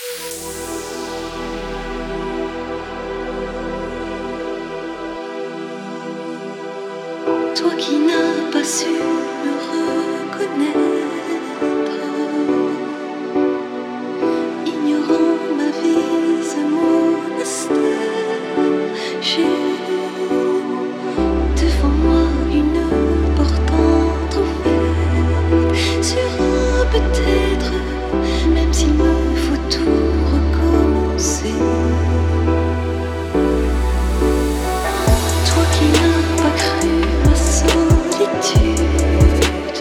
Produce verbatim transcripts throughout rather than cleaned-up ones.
Toi qui n'as pas su me reconnaître, ignorant ma vie à monastère, j'ai devant moi une porte entrouverte sur un peut-être, même s'il me faut tout recommencer. Toi qui n'as pas cru ma solitude,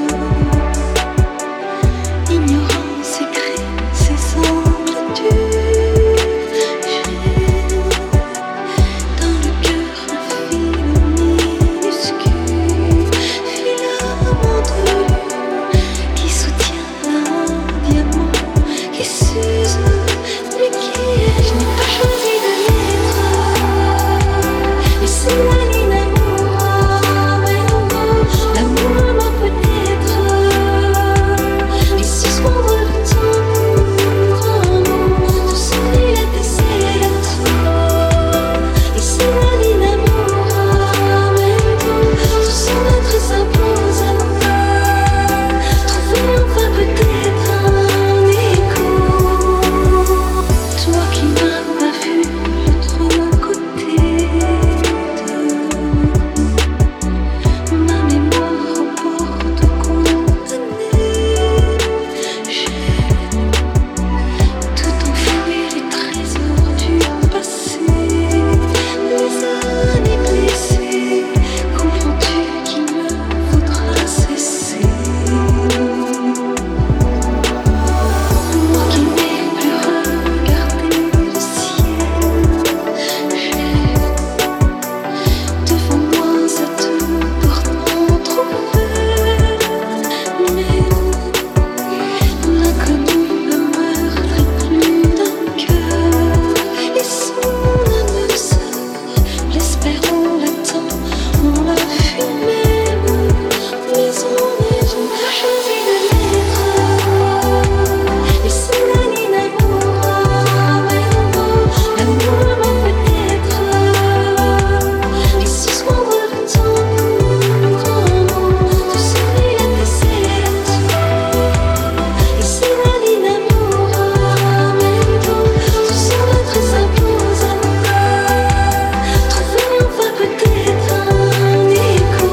ignorant ses cris, ses amplitudes, j'ai dans le cœur un fil minuscule, filament de lune qui soutient un diamant qui s'use, mais qui est. Je n'ai pas choisi de l'être, et c'est la ligne d'amour, mais non, l'amour m'a peut-être, mais suspendre le temps pour un mot, tout sourire et c'est la toi, et c'est la ligne d'amour, mais non, tout son être s'impose à nous, trouver enfin peut-être un écho. Toi qui n'as pas vu l'autre côté de ma mémoire aux portes condamnées, j'ai tout enfoui les trésors du passé, les années blessées. Comprends-tu qu'il me faudra cesser? Moi qui n'ai plus regardé le ciel, j'ai devant moi cette porte entrouverte, mais l'inconnu me meurtrit plus d'un cœur, et son âme sœur, l'espérons, l'attend, on l'a fui même, mais on est. Je n'ai pas choisi de l'être, et c'est la ligne d'amour, mais non, l'amour m'a peut-être, mais suspendre le temps pour un mot, tout sourire et c'est la toi, et c'est la ligne d'amour, mais non, tout son être s'impose à nous, trouver enfin peut-être un écho.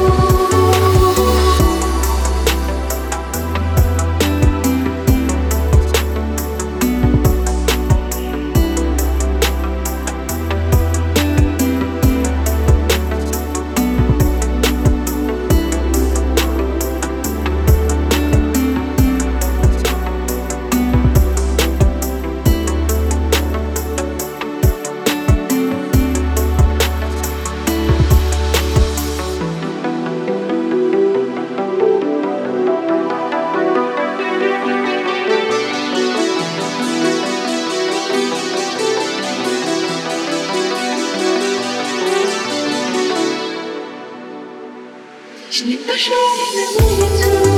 Je n'ai pas choisi l'amour du tout.